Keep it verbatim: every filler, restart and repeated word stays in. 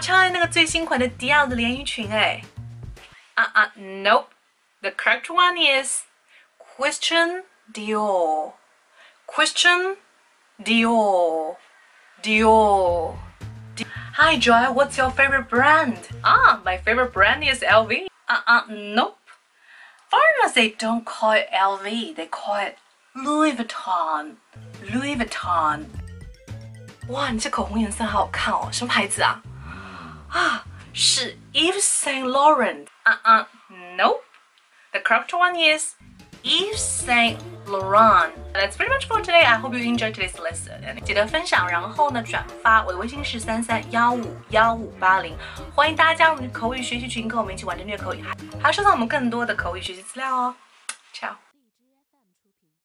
穿那个最新款的迪奥的连衣裙哎。啊啊 ，Nope. The correct one is Christian Dior. Christian Dior. Dior. Hi Joy, what's your favorite brand? Ah, my favorite brand is L V. Uh uh, nope. Foreigners, they don't call it L V, they call it Louis Vuitton. Louis Vuitton. 哇，你这口红颜色好好看哦，什么牌子啊？啊，是 Yves Saint Laurent. Uh uh, nope. The correct one is Yves Saint Laurent. That's pretty much for today. I hope you enjoyed today's lesson. 记得分享，然后呢转发。我的微信是三三幺五幺五八零，欢迎大家加入我们的口语学习群，跟我们一起玩着虐口语，还有收藏我们更多的口语学习资料哦。